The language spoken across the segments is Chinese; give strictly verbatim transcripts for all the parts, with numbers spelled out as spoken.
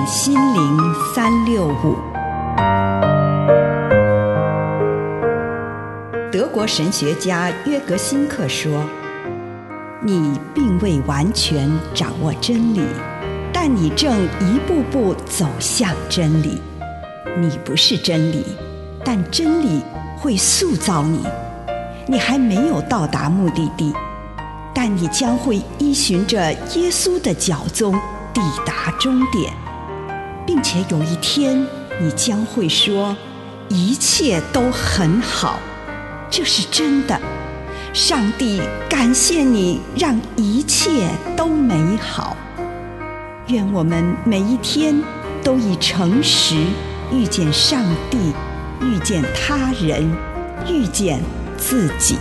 心靈三六五。德國神學家約格辛克說，你並未完全掌握真理，但你正一步步走向真理。你不是真理，但真理會塑造你。你還沒有到達目的地，但你將會依循着耶穌的腳蹤抵達終點，並且有一天你將會說，一切都很好。這是真的。上帝感謝你，讓一切都美好。願我們每一天都以誠實遇見上帝，遇見他人，遇見自己。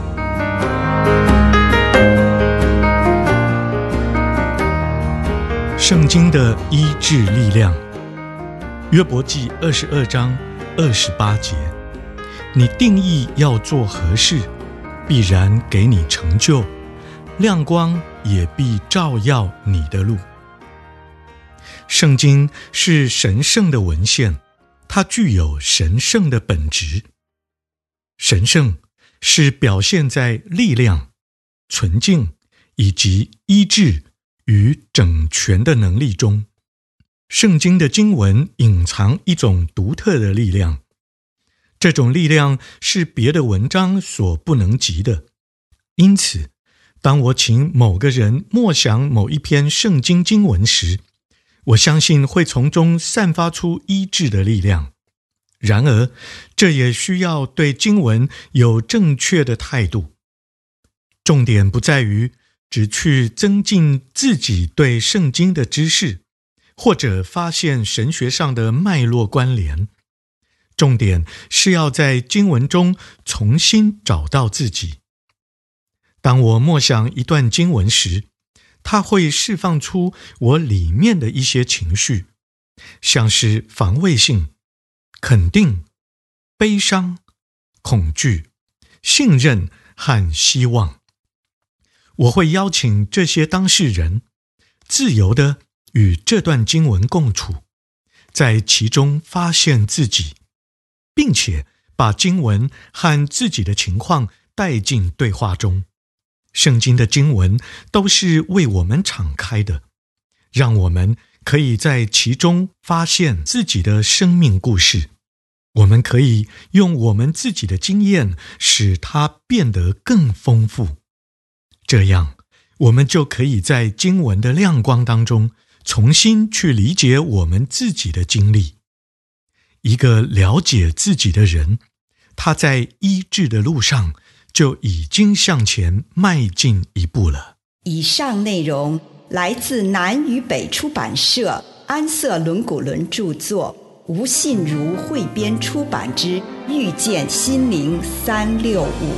聖經的醫治力量，約伯記二十二章二十八節。你定義要做何事，必然給你成就，亮光也必照耀你的路。聖經是神聖的文獻，它具有神聖的本質。神聖是表現在力量、純淨以及醫治與整全的能力中。聖經的經文隱藏一種獨特的力量，這種力量是別的文章所不能及的。因此，當我請某個人默想某一篇聖經經文時，我相信會從中散發出醫治的力量。然而，這也需要對經文有正確的態度。重點不在於只去增進自己對聖經的知識，或者發現神學上的脈絡關聯。重點是要在經文中重新找到自己。當我默想一段經文時，它會釋放出我裡面的一些情緒，像是防衛性、肯定、悲傷、恐懼、信任和希望。我會邀請這些當事人自由地與這段經文共處，在其中發現自己，並且把經文和自己的情況帶進對話中。聖經的經文都是為我們敞開的，讓我們可以在其中發現自己的生命故事。我們可以用我們自己的經驗使它變得更豐富。這樣，我們就可以在經文的亮光當中重新去理解我們自己的經歷。一個了解自己的人，他在醫治的路上就已經向前邁進一步了。 以上內容來自南與北出版社安瑟倫古倫著作，吳信如彙編出版之《遇見心靈三六五》。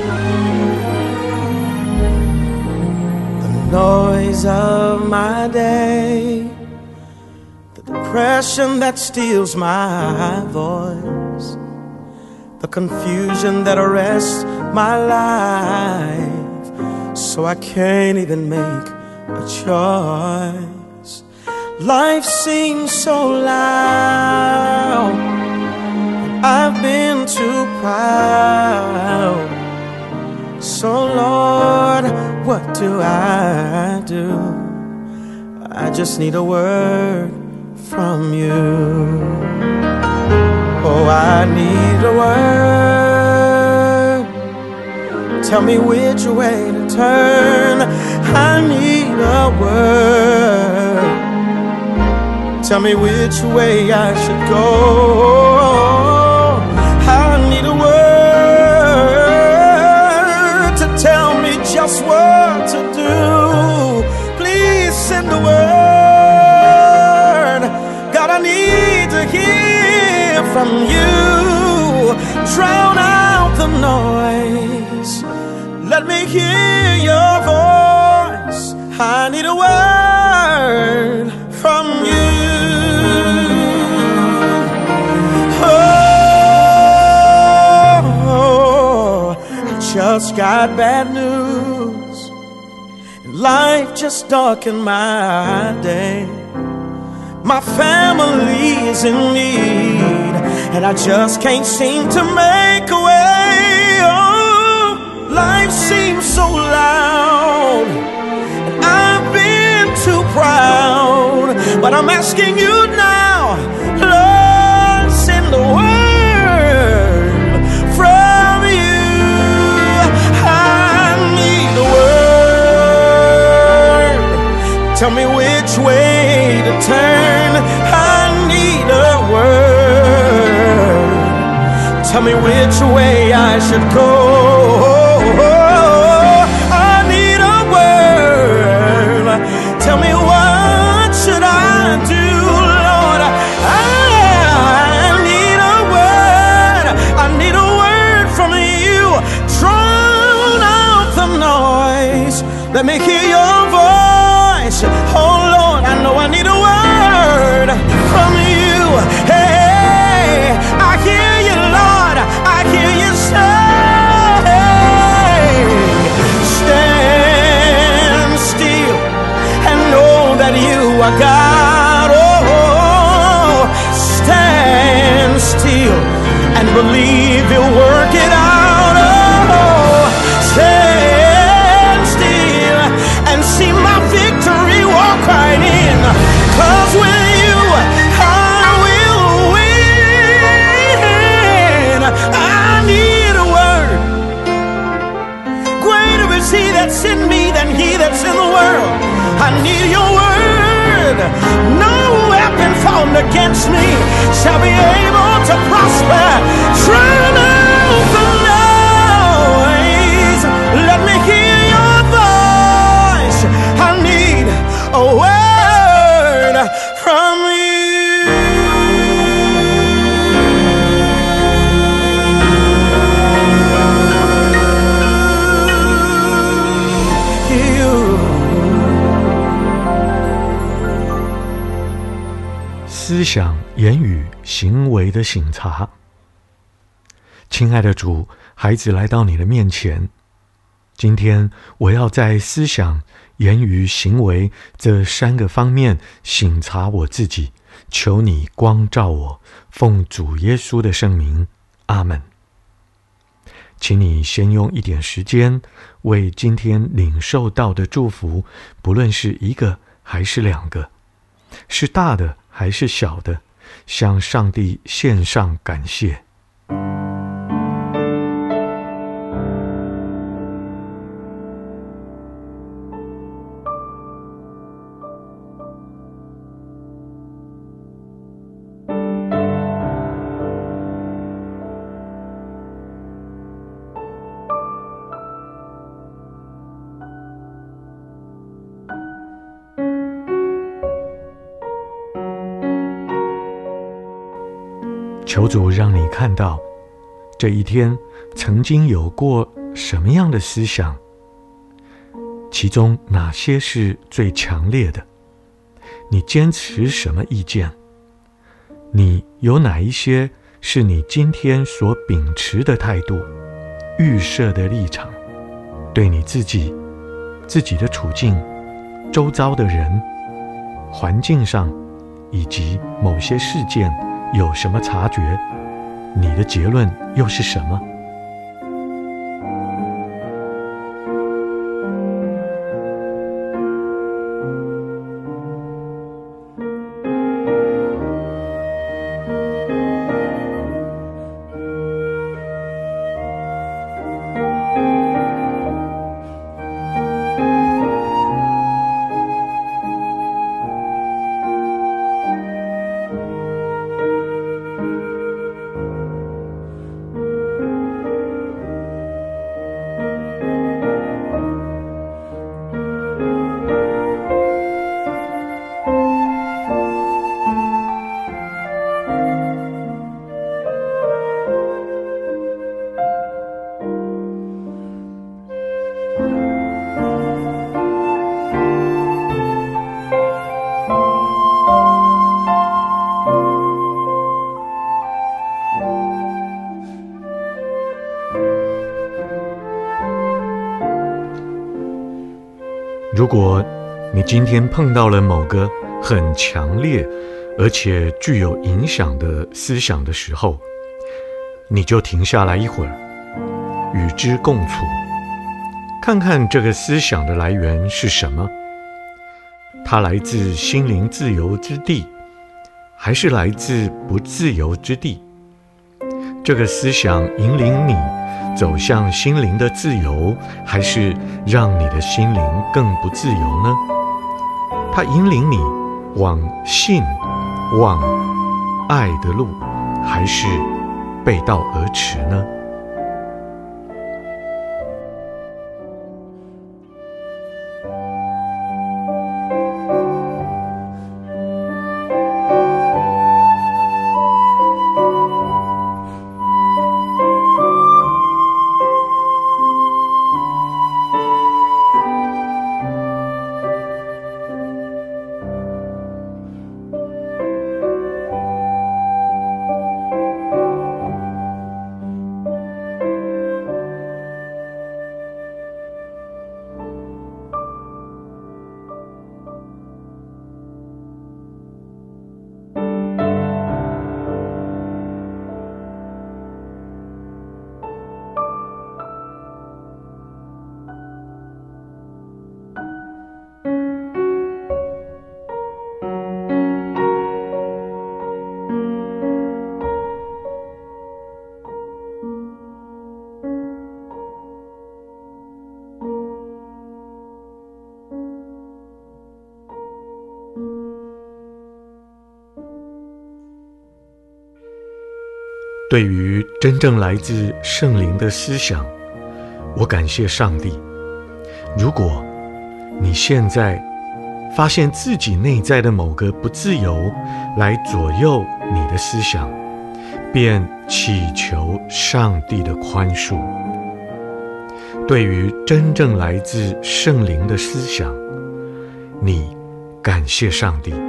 The noise of my day, the depression that steals my voice, the confusion that arrests my life, so I can't even make a choice. Life seems so loud, and I've been too proud. So Lord, what do I do? I just need a word from you. Oh, I need a word. Tell me which way to turn. I need a word. Tell me which way I should go. I need a word to tell me just what to do. Please send a word. God, I need to hear from you. Drown out the noise. Let me hear your voice. I need a word from you. Oh, I just got bad news. Life just darkened my day. my family is in need, and I just can't seem to make a way. Oh, life seems so loud, and I've been too proud, but I'm asking you now, Lord, send the word from you. I need a word. Tell me which way to turn. I need a word. Tell me which way I should go. I need a word. Tell me what should I do, Lord. I need a word. I need a word from you. Drown out the noise. Let me hear your voice. Oh Lord, I know I need a word from you. Hey, I hear you, Lord. I hear you say, stand still and know that you are God. Oh, stand still and believe He'll work it out. Oh, stand still and see my victory walk right in. 'Cause with you I will win. I need a word. Greater is He that's in me than he that's in the world. I need your word. No weapon formed against me shall be able to prosper. Drown out the noise. Let me hear your voice. I need a word from you. 思想、言語、行為的省察。親愛的主，孩子來到你的面前，今天我要在思想、言語、行為這三個方面省察我自己，求你光照我，奉主耶穌的聖名，阿們。請你先用一點時間，為今天領受到的祝福，不論是一個還是兩個，是大的還是小的，向上帝獻上感謝。求主讓你看到這一天曾經有過什麼樣的思想，其中哪些是最強烈的，你堅持什麼意見，你有哪一些是你今天所秉持的態度，預設的立場，對你自己、自己的處境、周遭的人、環境上以及某些事件有什麼察覺？你的結論又是什麼？如果你今天碰到了某個很強烈而且具有影響的思想的時候，你就停下來一會兒，與之共處，看看這個思想的來源是什麼？它來自心靈自由之地，還是來自不自由之地？這個思想引領你走向心靈的自由，還是讓你的心靈更不自由呢？它引領你往信、往愛的路，還是背道而馳呢？對於真正來自聖靈的思想，我感謝上帝。如果你現在發現自己內在的某個不自由來左右你的思想，便祈求上帝的寬恕。對於真正來自聖靈的思想，你感謝上帝。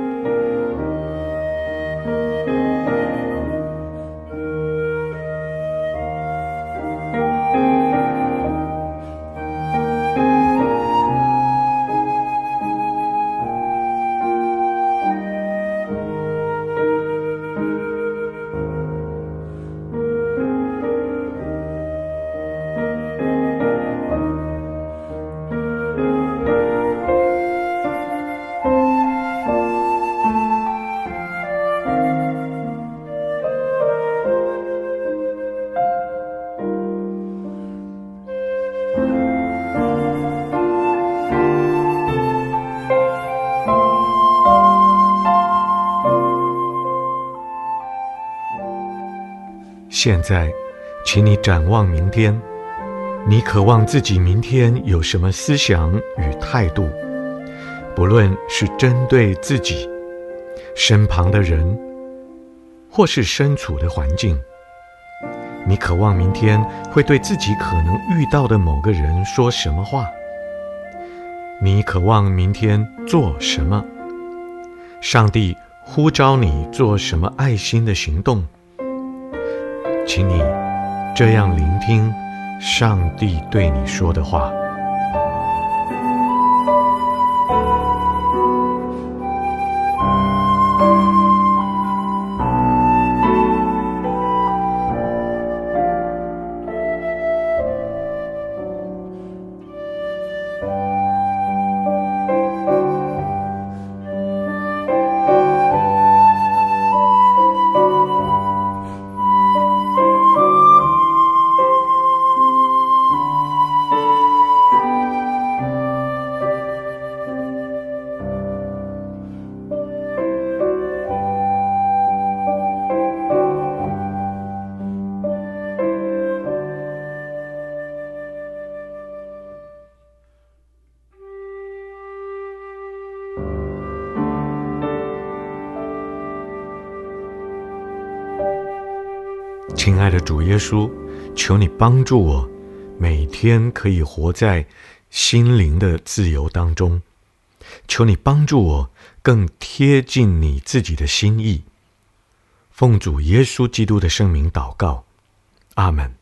現在，請你展望明天，你渴望自己明天有什麼思想與態度？不論是針對自己、身旁的人，或是身處的環境，你渴望明天會對自己可能遇到的某個人說什麼話？你渴望明天做什麼？上帝呼召你做什麼愛心的行動？請你這樣聆聽上帝對你說的話。親愛的主耶穌，求你幫助我，每天可以活在心靈的自由當中。求你幫助我更貼近你自己的心意。奉主耶穌基督的聖名禱告，阿們。